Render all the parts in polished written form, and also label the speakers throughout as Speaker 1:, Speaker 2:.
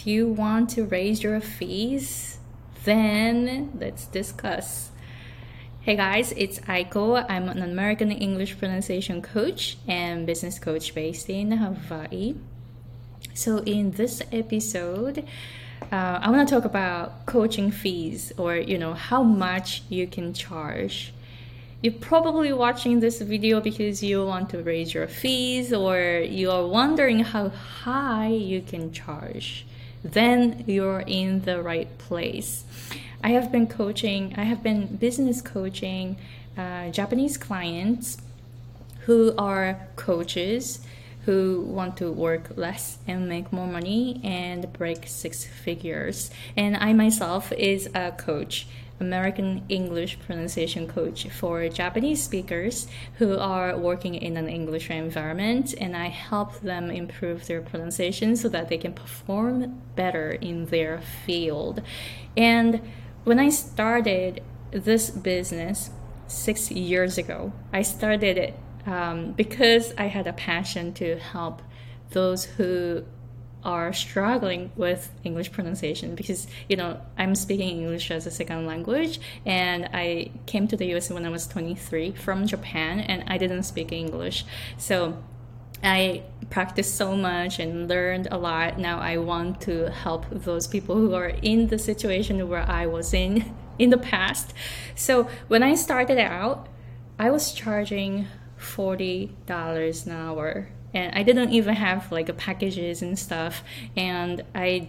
Speaker 1: if you want to raise your fees, then let's discuss. Hey guys, it's Aiko. I'm an American English pronunciation coach and business coach based in Hawaii. So in this episode, I want to talk about coaching fees, or how much you can charge. You're probably watching this video because you want to raise your fees, or you are wondering how high you can charge. Then you're in the right place. I have been business coaching Japanese clients who are coaches who want to work less and make more money and break six figures. And I myself is a coach, American English pronunciation coach for Japanese speakers who are working in an English environment, and I help them improve their pronunciation so that they can perform better in their field. And when I started this business 6 years ago, I started it because I had a passion to help those who are struggling with English pronunciation, because I'm speaking English as a second language, and I came to the US when I was 23 from Japan, and I didn't speak English. So I practiced so much and learned a lot. Now I want to help those people who are in the situation where I was in the past. So when I started out, I was charging $40 an hour, and I didn't even have packages and stuff, and I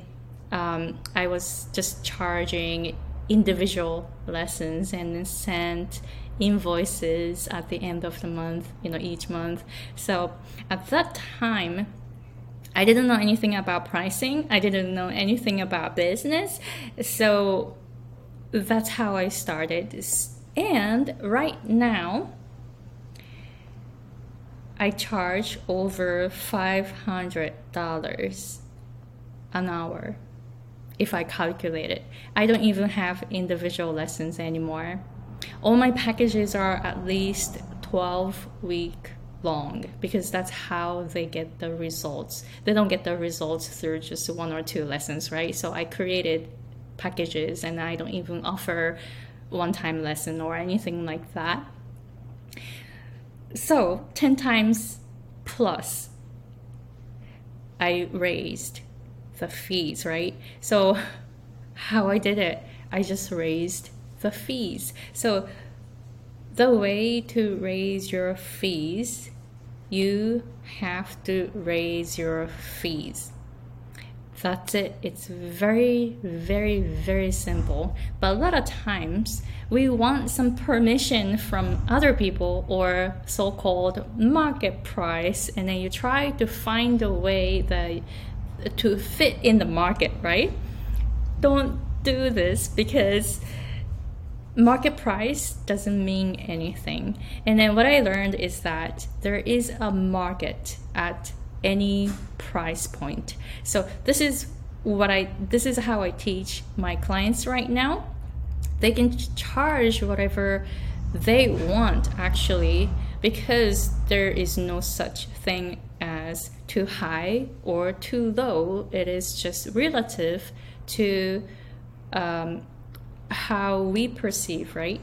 Speaker 1: was just charging individual lessons and then sent invoices at the end of the month, each month. So at that time, I didn't know anything about pricing. I didn't know anything about business. So that's how I started. And right now, I charge over $500 an hour if I calculate it. I don't even have individual lessons anymore. All my packages are at least 12-week long, because that's how they get the results. They don't get the results through just 1 or 2 lessons, right? So I created packages, and I don't even offer one-time lesson or anything like that. So 10 times plus I raised the fees, right? So how I did it, I just raised the fees. So the way to raise your fees, you have to raise your fees. That's it. It's very, very, very simple. But a lot of times we want some permission from other people, or so-called market price, and then you try to find a way to fit in the market, right? Don't do this, because market price doesn't mean anything. And then what I learned is that there is a market at any price point. So this is how I teach my clients right now. They can charge whatever they want, actually, because there is no such thing as too high or too low. It is just relative to how we perceive, right?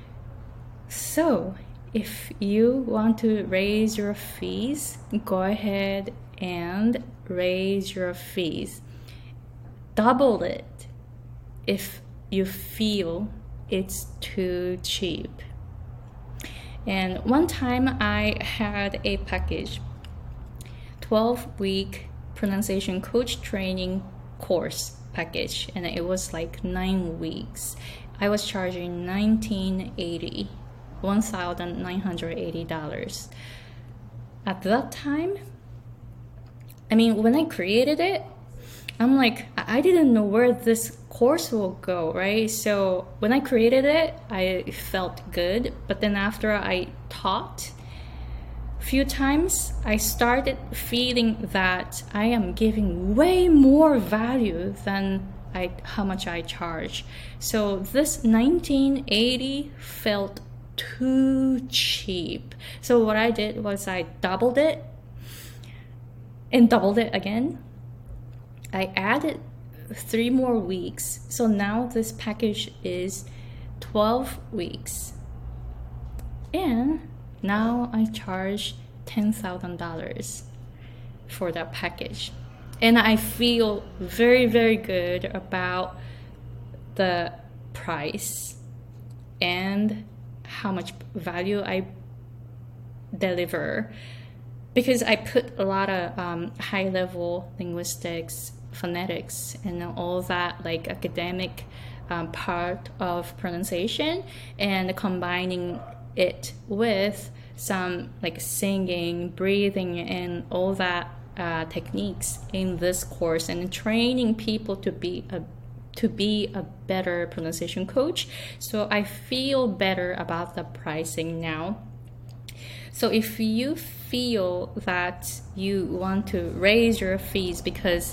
Speaker 1: So if you want to raise your fees, go ahead and raise your fees. Double it if you feel it's too cheap. And one time I had a package, 12-week pronunciation coach training course package, and it was 9 weeks. I was charging $1,980. At that time, when I created it, I'm I didn't know where this course will go, right? So when I created it, I felt good. But then after I taught a few times, I started feeling that I am giving way more value than how much I charge. So this $1,980 felt too cheap. So what I did was I doubled it and doubled it again. I added 3 more weeks. So now this package is 12 weeks. And now I charge $10,000 for that package. And I feel very, very good about the price and how much value I deliver, because I put a lot of high-level linguistics, phonetics, and all that like academic part of pronunciation, and combining it with some like singing, breathing, and all that techniques in this course, and training people to be a better pronunciation coach. So I feel better about the pricing now. So if you feel that you want to raise your fees because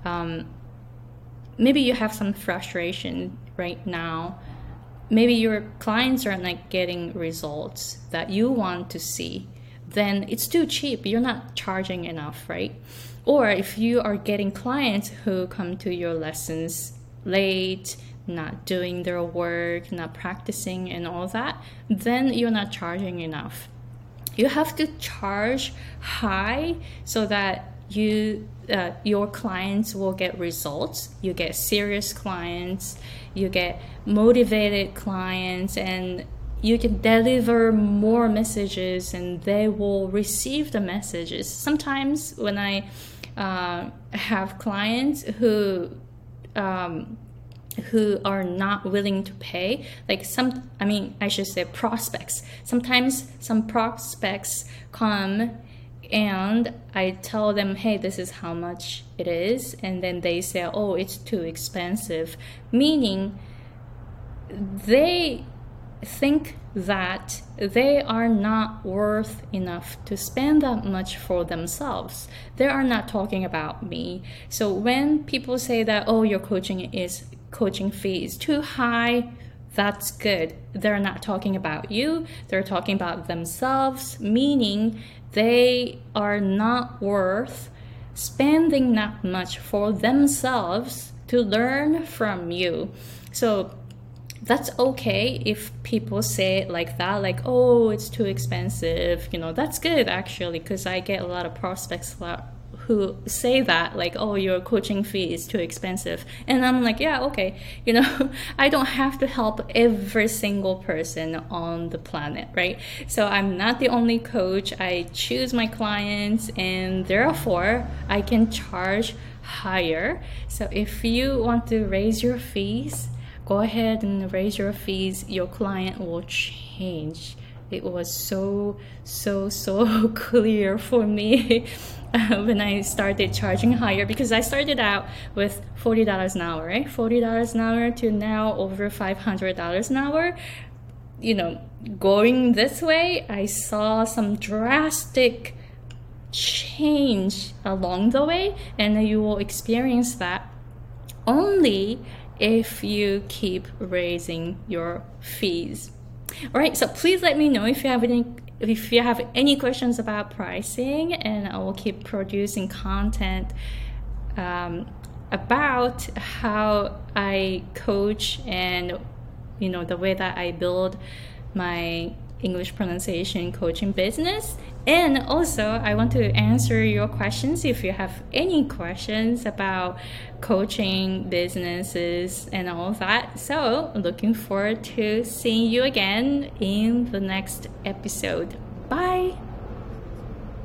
Speaker 1: maybe you have some frustration right now, maybe your clients are not getting results that you want to see, then it's too cheap. You're not charging enough, right? Or if you are getting clients who come to your lessons late, not doing their work, not practicing and all that, then you're not charging enough. You have to charge high so that your clients will get results. You get serious clients, you get motivated clients, and you can deliver more messages and they will receive the messages. Sometimes when I have clients who are not willing to pay, like I should say prospects. Sometimes some prospects come and I tell them, hey, this is how much it is. And then they say, oh, it's too expensive. Meaning they think that they are not worth enough to spend that much for themselves. They are not talking about me. So when people say that, oh, your coaching fee is too high, that's good. They're not talking about you. They're talking about themselves, meaning they are not worth spending that much for themselves to learn from you. So that's okay if people say it like that, like, oh, it's too expensive. That's good actually, because I get a lot of prospects who say that, like, oh, your coaching fee is too expensive. And I'm like, yeah, okay. I don't have to help every single person on the planet, right? So I'm not the only coach. I choose my clients, and therefore I can charge higher. So if you want to raise your fees, go ahead and raise your fees. Your client will change. It was so clear for me when I started charging higher, because I started out with $40 an hour, right? $40 an hour to now over $500 an hour. Going this way, I saw some drastic change along the way, and you will experience that only if you keep raising your fees. All right, so please let me know if you have any questions about pricing, and I will keep producing content about how I coach and the way that I build my English pronunciation coaching business. And also I want to answer your questions if you have any questions about coaching businesses and all that. So looking forward to seeing you again in the next episode. Bye.